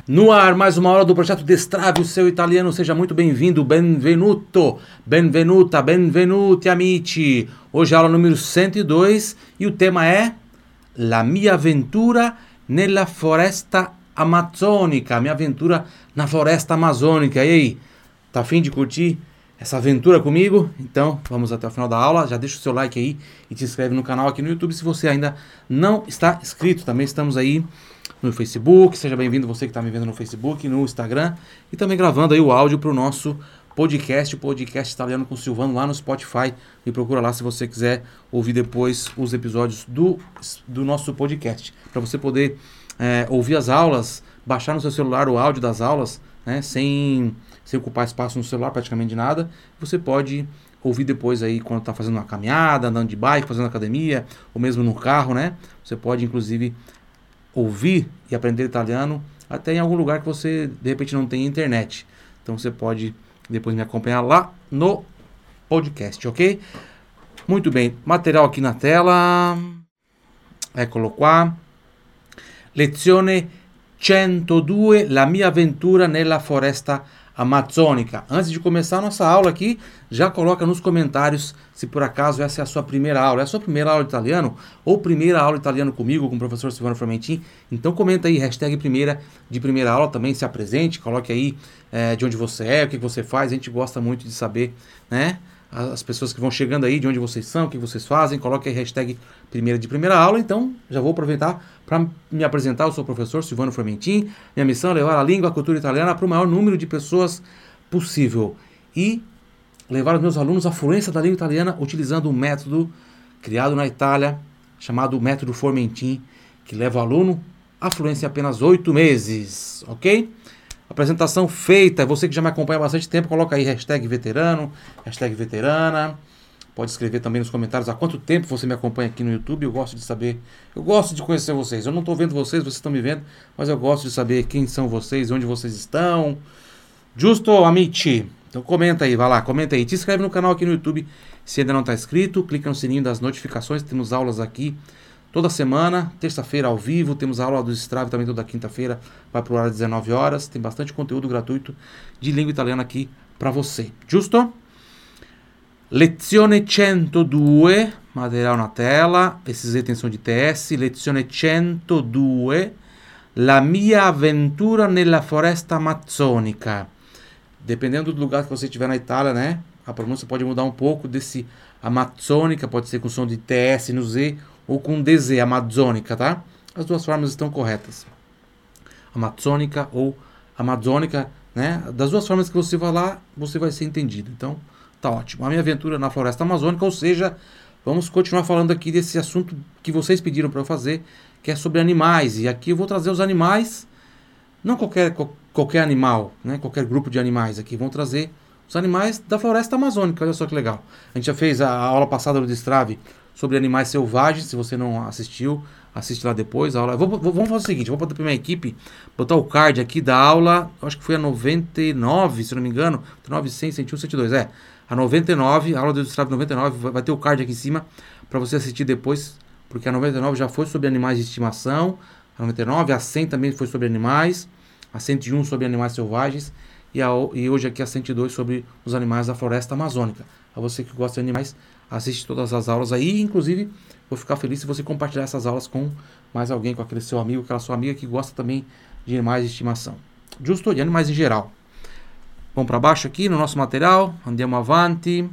No ar, mais uma aula do projeto Destrave o seu italiano. Seja muito bem-vindo, benvenuto, benvenuta, benvenuti amici. Hoje é a aula número 102 e o tema é La mia avventura nella foresta amazzonica. Minha aventura na floresta amazônica. E aí, tá afim de curtir essa aventura comigo? Então, vamos até o final da aula. Já deixa o seu like aí e te inscreve no canal aqui no YouTube se você ainda não está inscrito. Também estamos aí no Facebook, seja bem-vindo você que está me vendo no Facebook, no Instagram e também gravando aí o áudio para o nosso podcast, o podcast italiano com o Silvano lá no Spotify. Me procura lá se você quiser ouvir depois os episódios do nosso podcast, para você poder ouvir as aulas, baixar no seu celular o áudio das aulas, né, sem ocupar espaço no celular praticamente de nada. Você pode ouvir depois aí quando está fazendo uma caminhada, andando de bike, fazendo academia, ou mesmo no carro, né? Você pode inclusive ouvir e aprender italiano até em algum lugar que você de repente não tem internet. Então você pode depois me acompanhar lá no podcast, ok? Muito bem, material aqui na tela. Eccolo qua. Lezione 102, la mia avventura nella foresta amazônica. Antes de começar a nossa aula aqui, já coloca nos comentários se por acaso essa é a sua primeira aula. É a sua primeira aula de italiano ou primeira aula de italiano comigo, com o professor Silvano Formentin. Então comenta aí, hashtag primeira aula, também se apresente, coloque aí de onde você é, o que você faz. A gente gosta muito de saber, né? As pessoas que vão chegando aí, de onde vocês são, o que vocês fazem, coloque aí hashtag primeira aula. Então, já vou aproveitar para me apresentar. Eu sou o professor Silvano Formentin. Minha missão é levar a língua, a cultura italiana para o maior número de pessoas possível e levar os meus alunos à fluência da língua italiana utilizando um método criado na Itália, chamado método Formentin, que leva o aluno à fluência em apenas 8 meses, ok? Apresentação feita. Você que já me acompanha há bastante tempo, coloca aí hashtag veterano, hashtag veterana. Pode escrever também nos comentários há quanto tempo você me acompanha aqui no YouTube. Eu gosto de saber, eu gosto de conhecer vocês. Eu não estou vendo vocês estão me vendo, mas eu gosto de saber quem são vocês, onde vocês estão. Justo, amici? Então comenta aí, vai lá, comenta aí. Te inscreve no canal aqui no YouTube se ainda não está inscrito. Clica no sininho das notificações, temos aulas aqui toda semana, terça-feira ao vivo, temos a aula do Destrave também toda quinta-feira, vai pro horário 19 horas, tem bastante conteúdo gratuito de língua italiana aqui para você. Giusto? Lezione 102, material na tela, esses itens são de TS, lezione 102, la mia avventura nella foresta amazzonica. Dependendo do lugar que você estiver na Itália, né, a pronúncia pode mudar um pouco desse amazônica, pode ser com som de TS no Z, ou com DZ, amazônica, tá? As duas formas estão corretas. Amazônica ou amazônica, né? Das duas formas que você vai lá, você vai ser entendido. Então, tá ótimo. A minha aventura na floresta amazônica, ou seja, vamos continuar falando aqui desse assunto que vocês pediram para eu fazer, que é sobre animais. E aqui eu vou trazer os animais, não qualquer animal, né? Qualquer grupo de animais aqui. Vão trazer os animais da floresta amazônica. Olha só que legal. A gente já fez a aula passada do Destrave sobre animais selvagens. Se você não assistiu, assiste lá depois a aula. Vamos fazer o seguinte, vou botar para minha equipe, botar o card aqui da aula, acho que foi a 99, se não me engano, 99, 100, 101, 102, a 99, a aula do Destrave 99, vai ter o card aqui em cima para você assistir depois, porque a 99 já foi sobre animais de estimação, a 99, a 100 também foi sobre animais, a 101 sobre animais selvagens, e hoje aqui a 102 sobre os animais da floresta amazônica. A você que gosta de animais, assiste todas as aulas aí, inclusive vou ficar feliz se você compartilhar essas aulas com mais alguém, com aquele seu amigo, aquela sua amiga que gosta também de animais de estimação. Justo, de animais em geral. Vamos para baixo aqui no nosso material, andiamo avanti.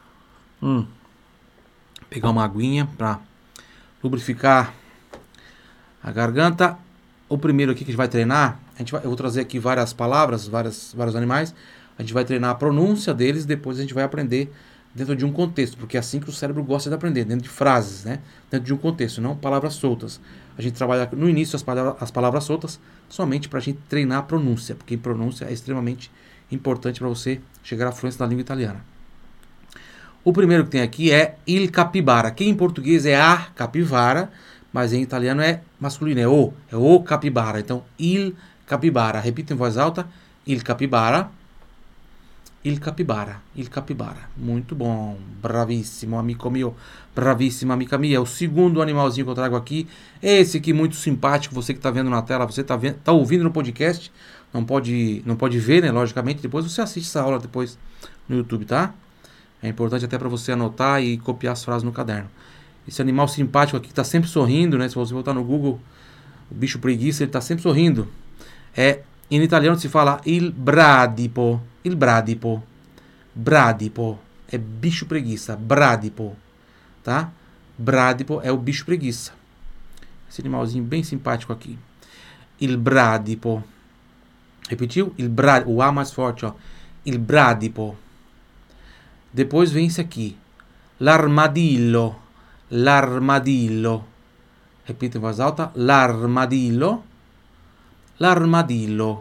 Pegar uma aguinha para lubrificar a garganta. O primeiro aqui que a gente vai treinar, eu vou trazer aqui várias palavras, vários animais. A gente vai treinar a pronúncia deles, depois a gente vai aprender dentro de um contexto, porque é assim que o cérebro gosta de aprender, dentro de frases, né? Dentro de um contexto, não palavras soltas. A gente trabalha no início as palavras soltas somente para a gente treinar a pronúncia, porque pronúncia é extremamente importante para você chegar à fluência da língua italiana. O primeiro que tem aqui é il capibara, que em português é a capivara, mas em italiano é masculino, é o capibara. Então, il capibara. Repita em voz alta, il capibara. Il capibara, il capibara. Muito bom, bravissimo, amico mio, bravissima, amica minha. O segundo animalzinho que eu trago aqui, esse aqui muito simpático, você que está vendo na tela, você tá ouvindo no podcast, não pode ver, né, logicamente, depois você assiste essa aula depois no YouTube, tá? É importante até para você anotar e copiar as frases no caderno. Esse animal simpático aqui que tá sempre sorrindo, né? Se você botar no Google, o bicho preguiça, ele tá sempre sorrindo. In italiano si fala il bradipo. Il bradipo. Bradipo. É bicho preguiça. Bradipo. Tá? Bradipo é o bicho preguiça. Esse animalzinho bem simpático aqui. Il bradipo. Repetiu? O A mais forte, ó. Il bradipo. Depois vem esse aqui. L'armadillo. L'armadillo. Repita em voz alta. L'armadillo. L'armadillo.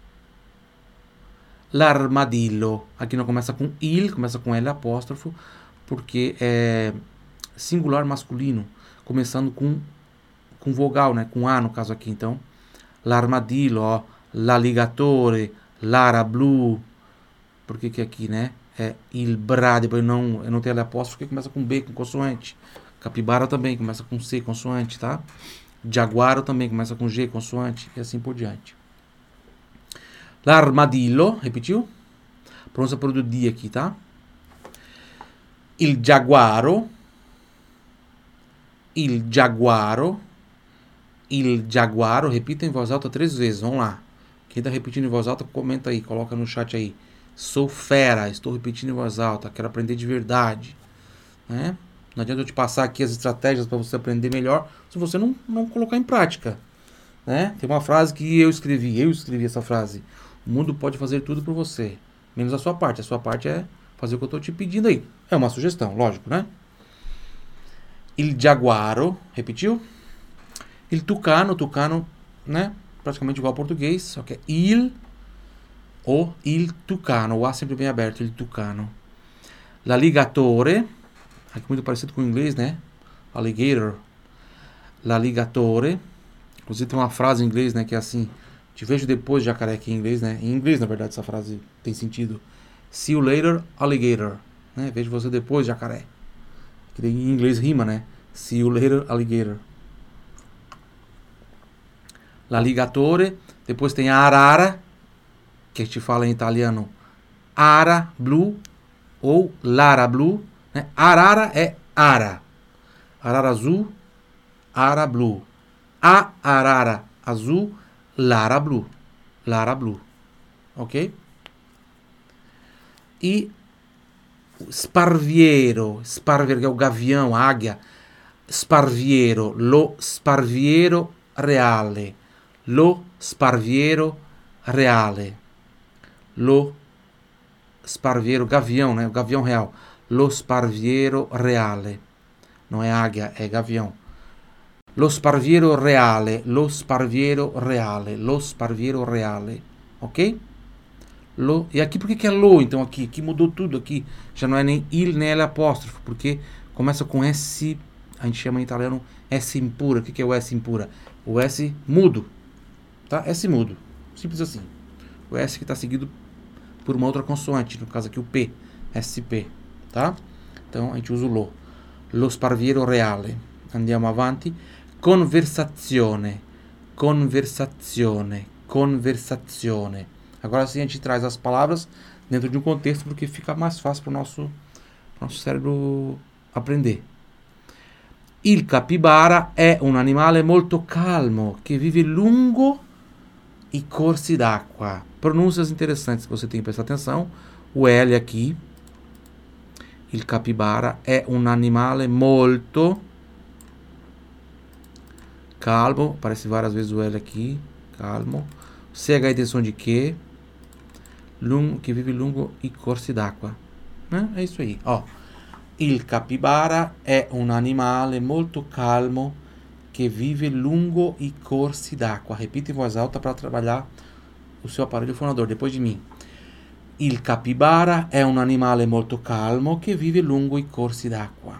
L'armadillo. Aqui não começa com il, começa com L apóstrofo, porque é singular masculino, começando com vogal, né? Com A no caso aqui, então. L'armadillo, ó. L'alligatore, l'ara blu. Por que aqui, né? É il bradipo, eu não tenho L apóstrofo, porque começa com B, com consoante. Capibara também começa com C, consoante, tá? Jaguaro também começa com G, consoante, e assim por diante. L'armadillo, repetiu? Pronúncia por do D aqui, tá? Il giaguaro. Il giaguaro. Il giaguaro. Repita em voz alta 3 vezes, vamos lá. Quem tá repetindo em voz alta, comenta aí, coloca no chat aí. Sou fera, estou repetindo em voz alta, quero aprender de verdade. Né? Não adianta eu te passar aqui as estratégias para você aprender melhor se você não colocar em prática. Né? Tem uma frase que eu escrevi essa frase. O mundo pode fazer tudo por você, menos a sua parte. A sua parte é fazer o que eu estou te pedindo aí. É uma sugestão, lógico, né? Il giaguaro, repetiu? Il tucano, né? Praticamente igual ao português, só que é il tucano. O A sempre bem aberto, il tucano. L'alligatore, aqui muito parecido com o inglês, né? Alligator. L'alligatore. Inclusive tem uma frase em inglês, né? Que é assim: te vejo depois, jacaré, aqui em inglês, né? Em inglês, na verdade, essa frase tem sentido. See you later, alligator. Né? Vejo você depois, jacaré. Que em inglês rima, né? See you later, alligator. L'alligatore. Depois tem a arara, que a gente fala em italiano ara blu ou lara blu. Né? Arara é ara. Arara azul, ara blu. A arara azul, lara blu. Lara blu. Ok? E sparviero. Sparviero, que é o gavião, a águia. Sparviero. Lo sparviero reale. Lo sparviero reale. Lo sparviero, gavião, né? O gavião real. Lo sparviero reale. Não é águia, é gavião. Lo sparviero reale. Lo sparviero reale. Lo sparviero reale. Ok? Lo. E aqui, por que é lo, então, aqui? Aqui mudou tudo, aqui. Já não é nem il, nem L apóstrofo, porque começa com S, a gente chama em italiano S impura. O que é o S impura? O S mudo. Tá? S mudo. Simples assim. O S que está seguido por uma outra consoante, no caso aqui o P, SP, tá? Então a gente usa o lo. Lo sparviero reale. Andiamo avanti. Conversazione. Conversazione. Conversazione. Agora sim a gente traz as palavras dentro de um contexto porque fica mais fácil para o nosso cérebro aprender. Il capibara è un animale molto calmo che vive lungo i corsi d'acqua. Pronúncias interessantes que você tem que prestar atenção. O L aqui. Il capibara è un animale molto calmo. Aparece várias vezes o L aqui. Calmo. CH intenção de que? Que vive lungo i corsi d'acqua. É isso aí. Ó. Il capibara è un animale molto calmo che vive lungo i corsi d'acqua. Repita em voz alta para trabalhar o seu aparelho fonador, depois de mim. Il capibara è un animale molto calmo che vive lungo i corsi d'acqua.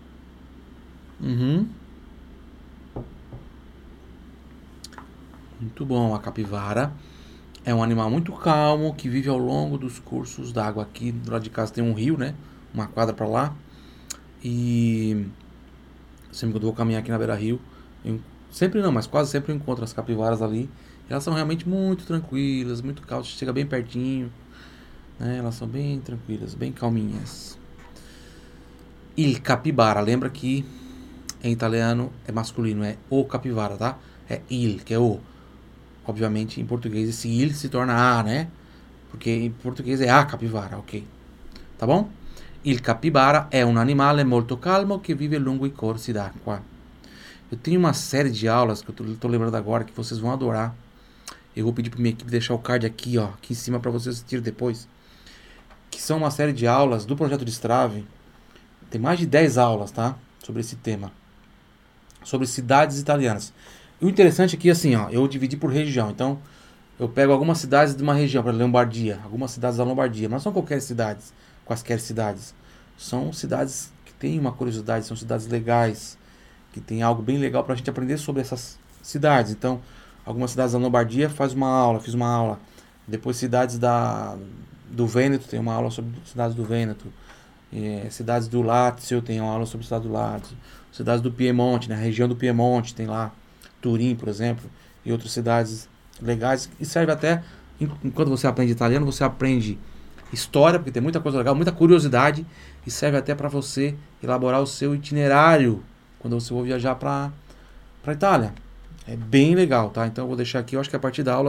Muito Muito bom. A capivara é um animal muito calmo que vive ao longo dos cursos d'água. Aqui do lado de casa tem um rio, né? Uma quadra para lá. E sempre que eu vou caminhar aqui na beira-rio, sempre não, mas quase sempre eu encontro as capivaras ali. Elas são realmente muito tranquilas, muito calmas. Chega bem pertinho, né? Elas são bem tranquilas, bem calminhas. Il capibara, lembra que em italiano é masculino, é o capivara, tá? É il, que é o. Obviamente em português esse il se torna a, né? Porque em português é a capivara, ok? Tá bom? Il capibara è un animale molto calmo che vive lungo i corsi d'acqua. Eu tenho uma série de aulas que eu tô lembrando agora que vocês vão adorar. Eu vou pedir pra minha equipe deixar o card aqui, ó, aqui em cima para vocês assistirem depois. Que são uma série de aulas do projeto de Strave. Tem mais de 10 aulas, tá? Sobre esse tema. Sobre cidades italianas. E o interessante aqui, assim, ó, eu dividi por região. Então, eu pego algumas cidades de uma região, para Lombardia, algumas cidades da Lombardia. Mas não são qualquer cidades, quaisquer cidades. São cidades que têm uma curiosidade, são cidades legais, que tem algo bem legal para a gente aprender sobre essas cidades. Então, algumas cidades da Lombardia fiz uma aula. Depois cidades do Vêneto, tem uma aula sobre cidades do Vêneto. Cidades do Lácio, tem uma aula sobre cidades do Lácio. Cidades do Piemonte, na região do Piemonte, tem lá Turim, por exemplo, e outras cidades legais. E serve até, enquanto você aprende italiano, você aprende história, porque tem muita coisa legal, muita curiosidade, e serve até para você elaborar o seu itinerário quando você for viajar para Itália. É bem legal, tá? Então eu vou deixar aqui, eu acho que a partir da aula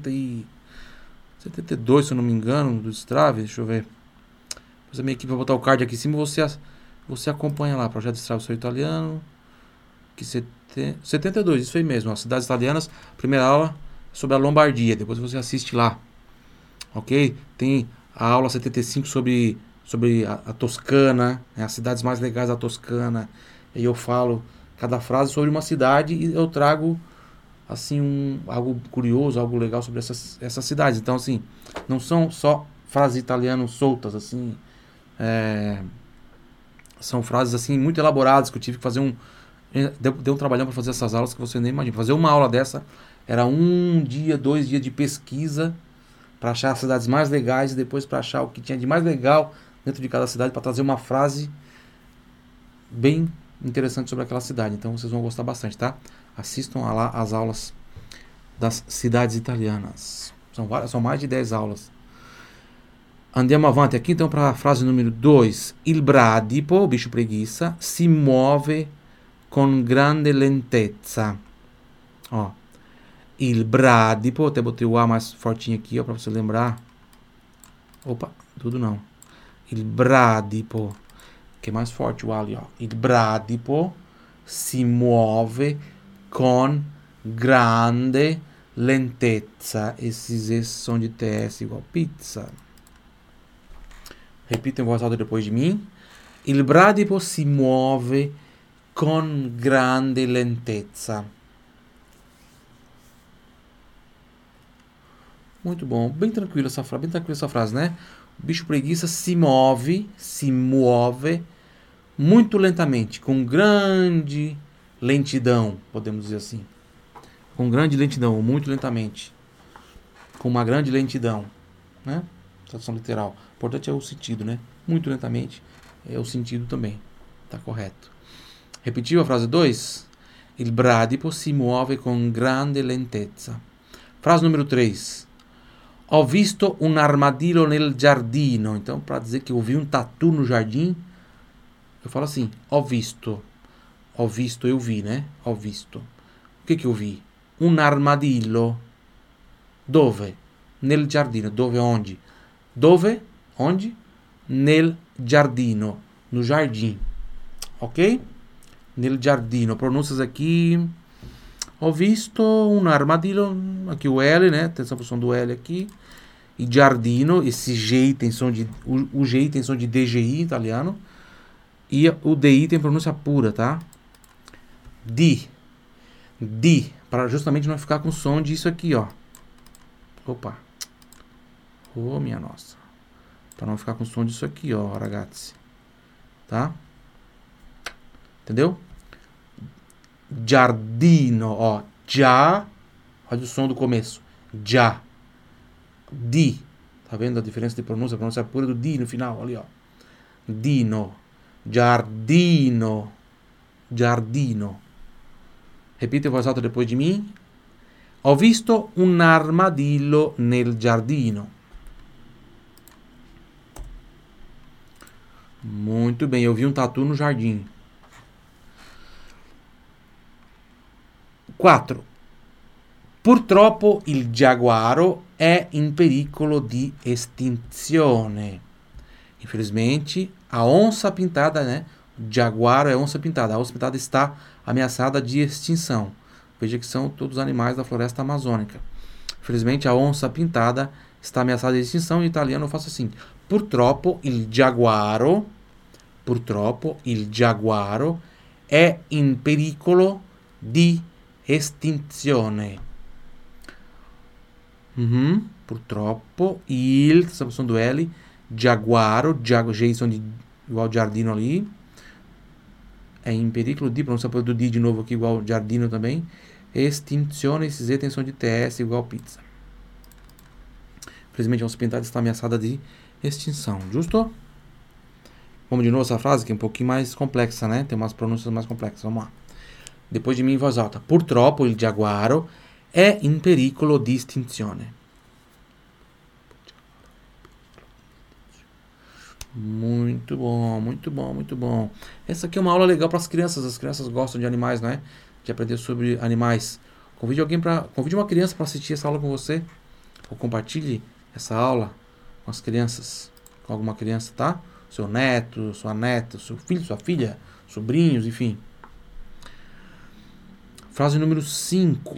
72, se eu não me engano, do Strave, deixa eu ver. Depois a minha equipe vai botar o card aqui em cima, você acompanha lá, Projeto Strave Sou Italiano, que 72, isso aí mesmo, ó, cidades italianas, primeira aula sobre a Lombardia, depois você assiste lá, ok? Tem a aula 75 sobre a Toscana, né, as cidades mais legais da Toscana, e eu falo cada frase sobre uma cidade e eu trago assim algo curioso, algo legal sobre essas cidades. Então assim, não são só frases italianas soltas assim, são frases assim muito elaboradas que eu tive que fazer deu um trabalhão para fazer essas aulas que você nem imagina. Fazer uma aula dessa era 1 dia, 2 dias de pesquisa para achar as cidades mais legais e depois para achar o que tinha de mais legal dentro de cada cidade para trazer uma frase bem interessante sobre aquela cidade. Então vocês vão gostar bastante, tá? Assistam lá as aulas das cidades italianas. São mais de 10 aulas. Andiamo avanti aqui então para a frase número 2. Il bradipo, o bicho preguiça, si muove con grande lentezza. Ó, il bradipo, até botei o A mais fortinho aqui, ó, para você lembrar. Opa, tudo não. Il bradipo, que é mais forte o A ali, ó. Il bradipo si muove con grande lentezza. Esses S são de TS igual pizza. Repita em voz alta depois de mim. Il bradipo si muove con grande lentezza. Muito bom, bem tranquila essa frase, né? O bicho preguiça se move muito lentamente, com grande lentidão, podemos dizer assim. Com grande lentidão, ou muito lentamente. Com uma grande lentidão, né? Tradução literal. O importante é o sentido, né? Muito lentamente é o sentido também. Tá correto. Repetiu a frase 2? Il bradipo si muove con grande lentezza. Frase número 3. Ho visto un armadillo nel giardino. Então, para dizer que eu vi um tatu no jardim, eu falo assim, ho visto. Ho visto, eu vi, né? Ho visto. O que eu vi? Un armadillo. Dove? Nel giardino. Dove? Onde? Dove? Onde? Nel giardino. No jardim. Ok? Nel giardino. Pronúncias aqui. Ho visto un armadillo. Aqui o L, né? Atenção para o som do L aqui. E giardino. Esse G tem som de... O G tem som de DGI italiano. E o DI tem pronúncia pura, tá? Di. Para justamente não ficar com som disso aqui, ó. Opa. Oh, minha nossa. Para não ficar com som disso aqui, ó, ragazzi. Tá? Entendeu? Giardino, ó. Já. Olha o som do começo. Già. Di. Tá vendo a diferença de pronúncia? A pronúncia pura do di no final, ali, ó. Dino. Giardino. Giardino. Repita in voz alta depois de mim. Ho visto un armadillo nel giardino. Muito bem, eu vi um tatu no jardim. 4. Purtroppo il giaguaro è in pericolo di estinzione. Infelizmente, a onça pintada, né? O jaguaro é onça pintada. A onça pintada está ameaçada de extinção. Veja que são todos os animais da floresta amazônica. Infelizmente, a onça pintada está ameaçada de extinção. Em italiano eu faço assim. Purtroppo il giaguaro è in pericolo di estinzione. Purtroppo il, essa som do L, giaguaro, G som de igual giardino ali, é in pericolo di, pronúncia do di de novo aqui igual giardino também, extinzione, esse Z tem som de TS igual pizza. Infelizmente a onça pintada está ameaçada de extinção, justo? Vamos de novo essa frase que é um pouquinho mais complexa, né? Tem umas pronúncias mais complexas, vamos lá. Depois de mim em voz alta. Purtroppo il giaguaro è in pericolo di estinzione. Muito bom, muito bom, muito bom. Essa aqui é uma aula legal para as crianças gostam de animais, não é? De aprender sobre animais. Convide uma criança para assistir essa aula com você, ou compartilhe essa aula com as crianças, com alguma criança, tá? Seu neto, sua neta, seu filho, sua filha, sobrinhos, enfim. Frase número 5.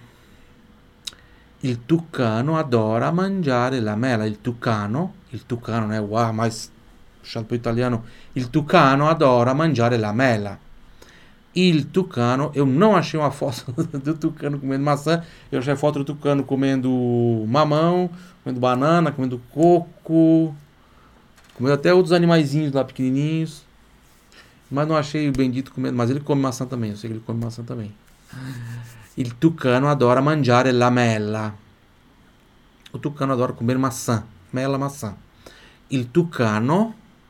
Il tucano adora mangiare la mela. Il tucano, né? O A mais puxado para o italiano. Il tucano adora mangiare la mela. Il tucano, eu não achei uma foto do tucano comendo maçã. Eu achei a foto do tucano comendo mamão, comendo banana, comendo coco, comendo até outros animaizinhos lá pequenininhos. Mas não achei o bendito comendo. Mas ele come maçã também. Eu sei que ele come maçã também. Il tucano adora mangiare la mela. O tucano adora comer maçã. Mela, maçã. Il tucano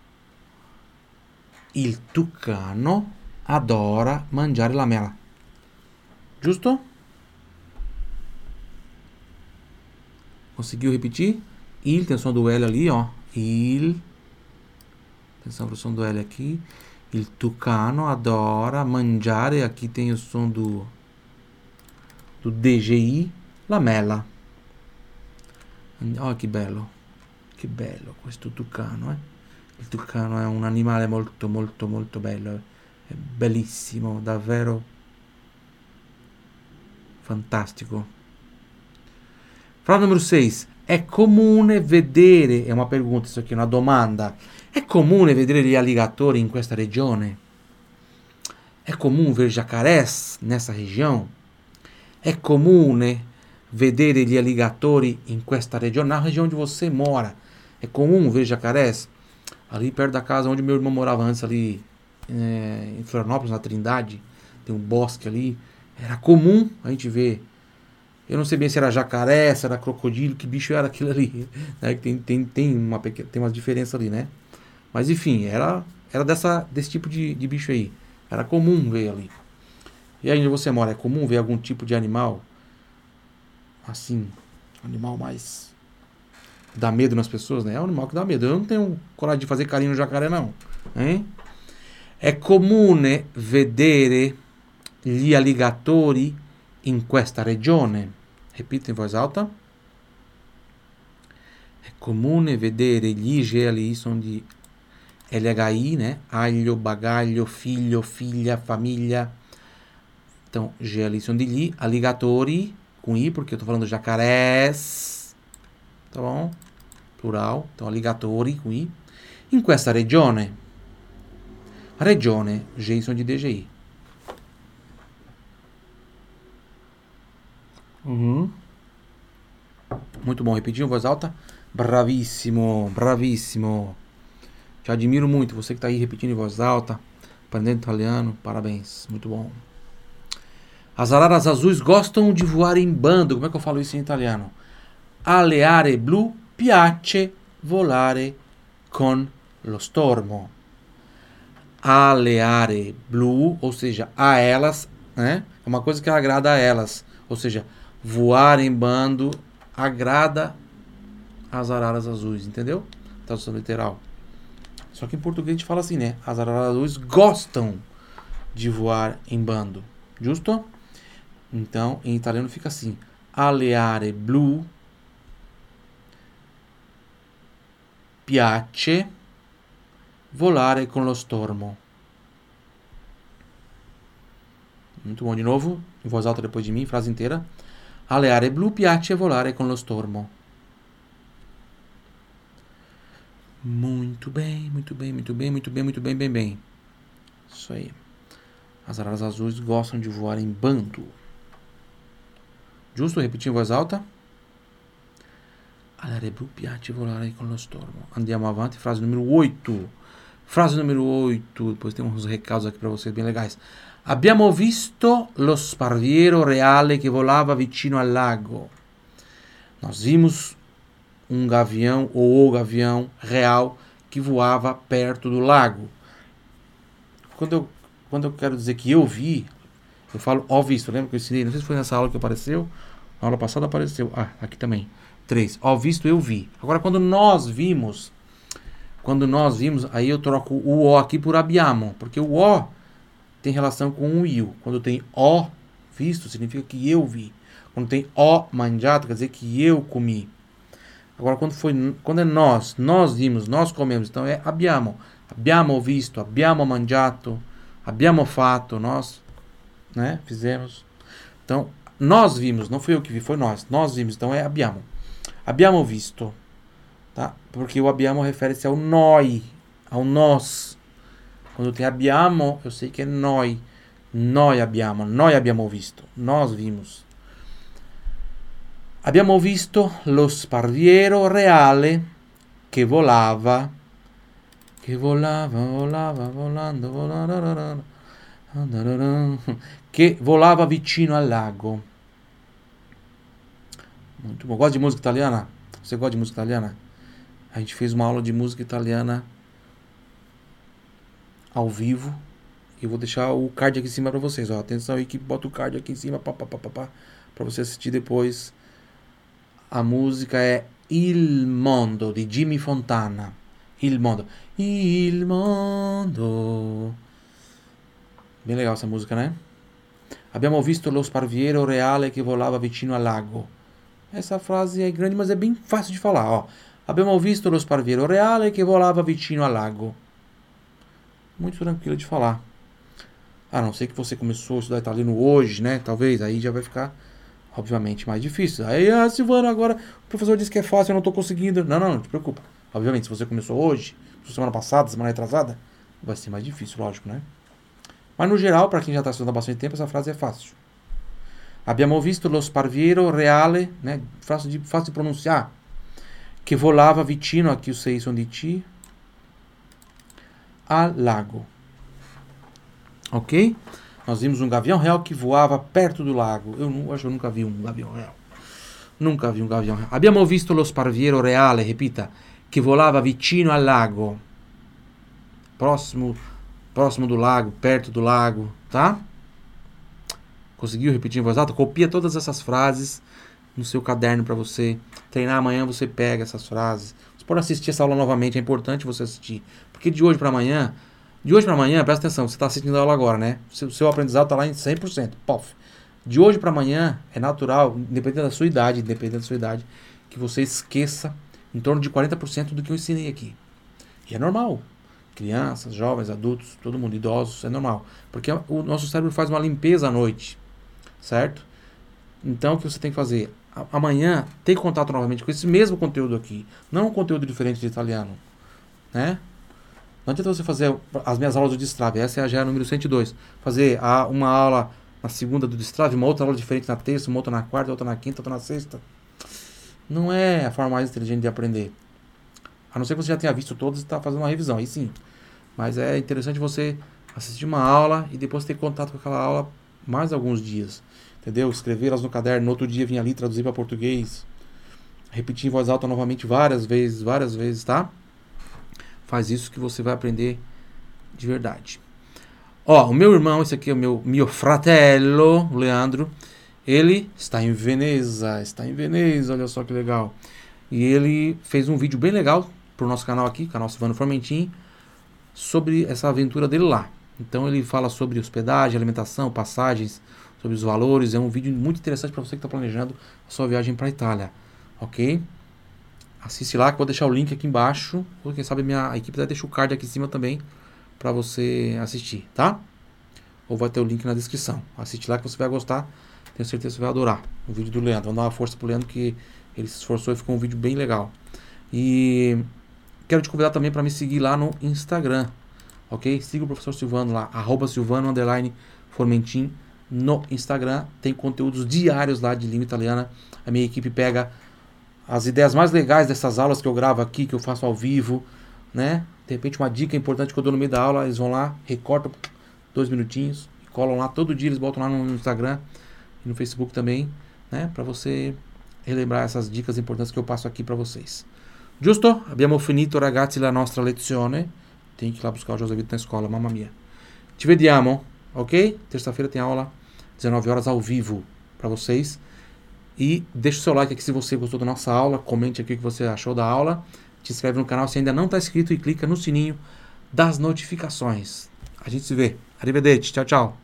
adora mangiare la mela. Giusto? Conseguiu repetir? Il, tem o som do L ali, ó. Il. Atenção pro som do L aqui. Il tucano adora mangiare. Aqui tem o som do DGI. La mela. Oh, che bello. Che bello questo tucano, eh? Il tucano è un animale molto, molto, molto bello. È bellissimo, davvero fantastico. Frase numero 6. È comune vedere, è una pergunta, isso aqui è una domanda. È comune vedere gli alligatori in questa regione? È comune ver jacarés nessa região? È comune vedere gli alligatori in questa regione? Na região onde você mora, é comum ver jacarés? Ali perto da casa onde meu irmão morava antes, ali em Florianópolis, na Trindade, tem um bosque ali. Era comum a gente ver. Eu não sei bem se era jacaré, se era crocodilo, que bicho era aquilo ali. Né? Tem umas diferenças ali, né? Mas enfim, era desse tipo de bicho aí. Era comum ver ali. E aí onde você mora, é comum ver algum tipo de animal? Assim, animal mais dá medo nas pessoas, né? É um animal que dá medo. Eu não tenho coragem de fazer carinho no jacaré, não. Hein? È comune vedere gli alligatori in questa regione? Repito in voz alta. È comune vedere gli ali sono di LHI, né? Aglio, bagaglio, figlio, figlia, famiglia. Então, G ali sono di gli. Alligatori, com I, porque eu tô falando jacarés. Tá bom? Plural. Então, alligatori, com I. In questa regione. Regione, G sono di DGI. Muito bom, repetir em voz alta. Bravíssimo, bravíssimo. Te admiro muito, você que está aí repetindo em voz alta, aprendendo italiano, parabéns, muito bom. As araras azuis gostam de voar em bando. Como é que eu falo isso em italiano? Alle aree blu piace volare con lo stormo. Alle aree blu, ou seja, a elas, né? É uma coisa que agrada a elas. Ou seja, voar em bando agrada as araras azuis, entendeu? Tradução literal. Só que em português a gente fala assim, né? As araras azuis gostam de voar em bando. Justo? Então, em italiano fica assim. Alle aree blu piace volare con lo stormo. Muito bom. De novo, em voz alta depois de mim, frase inteira. Alle aree blu piace volare con lo stormo. Muito bem, muito bem, muito bem, muito bem, muito bem, bem, bem. Isso aí. As araras azuis gostam de voar em bando. Giusto? Repetir em voz alta. Alle aree blu piace volare con lo stormo. Andiamo avanti. Frase número 8. Frase número 8. Depois tem uns recados aqui para vocês bem legais. Abbiamo visto lo sparviero reale che volava vicino al lago. Nós vimos um gavião ou o gavião real que voava perto do lago. Quando eu quero dizer que eu vi, eu falo ó visto. Lembra que eu ensinei? Não sei se foi nessa aula que apareceu. Na aula passada apareceu. Ah, aqui também. 3. Ó visto, eu vi. Agora, quando nós vimos, aí eu troco o ó aqui por abbiamo. Porque o ó tem relação com o io. Quando tem ó visto, significa que eu vi. Quando tem ó mangiato, quer dizer que eu comi. Agora, quando é nós vimos, nós comemos, então é abbiamo. Abbiamo visto, abbiamo mangiato, abbiamo fatto, nós, né, fizemos. Então, nós vimos, não fui eu que vi, foi nós. Nós vimos, então é abbiamo. Abbiamo visto, tá? Porque o abbiamo refere-se ao noi, ao nós. Quando tem abbiamo, eu sei que é noi. Noi abbiamo visto, nós vimos. Abbiamo visto lo sparviero reale che volava vicino al lago. Muito bom. Gosta de música italiana? Você gosta de música italiana? A gente fez uma aula de música italiana ao vivo. Eu vou deixar o card aqui em cima para vocês. Ó. Atenção, equipe, bota o card aqui em cima para você assistir depois. A música é Il Mondo, de Jimmy Fontana. Il Mondo. Il Mondo. Bem legal essa música, né? Abbiamo visto lo sparviero reale che volava vicino al lago. Essa frase é grande, mas é bem fácil de falar, ó. Abbiamo visto lo sparviero reale che volava vicino al lago. Muito tranquilo de falar. A não ser que você começou a estudar italiano hoje, né? Talvez, aí já vai ficar, obviamente, mais difícil. Aí, Silvano, agora o professor disse que é fácil, eu não tô conseguindo. Não te preocupa. Obviamente, se você começou hoje, semana passada, semana retrasada, vai ser mais difícil, lógico, né? Mas no geral, para quem já está estudando há bastante tempo, essa frase é fácil. Abbiamo visto lo sparviero reale, né? Fácil de pronunciar. Que volava vicino, aqui os 6 são de ti, al lago. Ok? Nós vimos um gavião real que voava perto do lago. Eu acho que eu nunca vi um gavião real. Nunca vi um gavião real. Abbiamo visto lo sparviero reale, repita, che volava vicino al lago. Próximo do lago, perto do lago, tá? Conseguiu repetir em voz alta? Copia todas essas frases no seu caderno para você treinar. Amanhã você pega essas frases. Você pode assistir essa aula novamente, é importante você assistir. Porque de hoje para amanhã, presta atenção, você está assistindo a aula agora, né? Seu aprendizado está lá em 100%. Pof. De hoje para amanhã, é natural, independente da sua idade, que você esqueça em torno de 40% do que eu ensinei aqui. E é normal. Crianças, jovens, adultos, todo mundo, idosos, é normal. Porque o nosso cérebro faz uma limpeza à noite, certo? Então, o que você tem que fazer? Amanhã, ter contato novamente com esse mesmo conteúdo aqui. Não um conteúdo diferente de italiano, né? Não adianta você fazer as minhas aulas do Destrave. Essa já é a número 102. Fazer uma aula na segunda do Destrave, uma outra aula diferente na terça, uma outra na quarta, outra na quinta, outra na sexta. Não é a forma mais inteligente de aprender. A não ser que você já tenha visto todas e está fazendo uma revisão. Aí sim. Mas é interessante você assistir uma aula e depois ter contato com aquela aula mais alguns dias, entendeu? Escrever elas no caderno, no outro dia vir ali traduzir para português, repetir em voz alta novamente várias vezes, tá? Faz isso que você vai aprender de verdade. Ó, o meu irmão, esse aqui é o meu fratello, o Leandro, ele está em Veneza, olha só que legal. E ele fez um vídeo bem legal pro nosso canal aqui, canal Silvano Formentin, sobre essa aventura dele lá. Então ele fala sobre hospedagem, alimentação, passagens, sobre os valores. É um vídeo muito interessante para você que está planejando a sua viagem para a Itália, ok? Assiste lá, que eu vou deixar o link aqui embaixo, ou quem sabe a equipe vai deixar o card aqui em cima também para você assistir, tá? Ou vai ter o link na descrição. Assiste lá que você vai gostar, tenho certeza que você vai adorar o vídeo do Leandro. Vamos dar uma força pro Leandro, que ele se esforçou e ficou um vídeo bem legal. E quero te convidar também para me seguir lá no Instagram, ok? Siga o professor Silvano lá, @Silvano_Formentin no Instagram. Tem conteúdos diários lá de língua italiana. A minha equipe pega as ideias mais legais dessas aulas que eu gravo aqui, que eu faço ao vivo, né? De repente uma dica importante que eu dou no meio da aula, eles vão lá, recortam 2 minutinhos, colam lá todo dia, eles botam lá no Instagram e no Facebook também, né? Para você relembrar essas dicas importantes que eu passo aqui para vocês. Giusto? Abbiamo finito, ragazzi, la nostra lezione. Tem que ir lá buscar o José Vitor na escola, mamma mia. Ci vediamo, ok? Terça-feira tem aula, 19 horas ao vivo para vocês. E deixa o seu like aqui se você gostou da nossa aula. Comente aqui o que você achou da aula. Te inscreve no canal se ainda não está inscrito e clica no sininho das notificações. A gente se vê. Arrivederci. Tchau, tchau.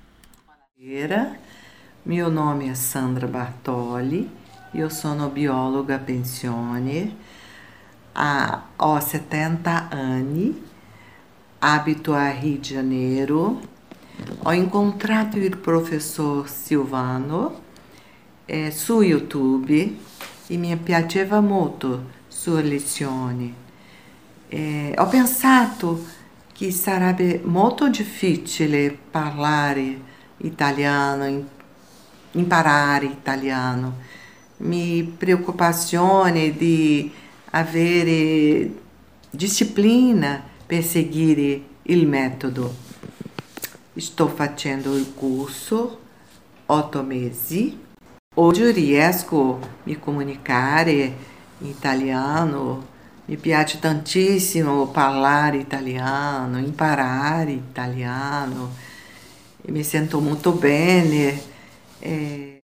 Meu nome é Sandra Bartoli. Eu sono biologa a pensione. Ho 70 anni. Abito a Rio de Janeiro. Ho incontrato il professor Silvano su YouTube e mi piaceva molto sue lezioni. Ho pensato che sarebbe molto difficile parlare italiano, imparare italiano. Mi preoccupazione di avere disciplina per seguire il metodo. Sto facendo il corso 8 mesi. Oggi riesco a mi comunicare in italiano, mi piace tantissimo parlare italiano, imparare italiano, e mi sento molto bene.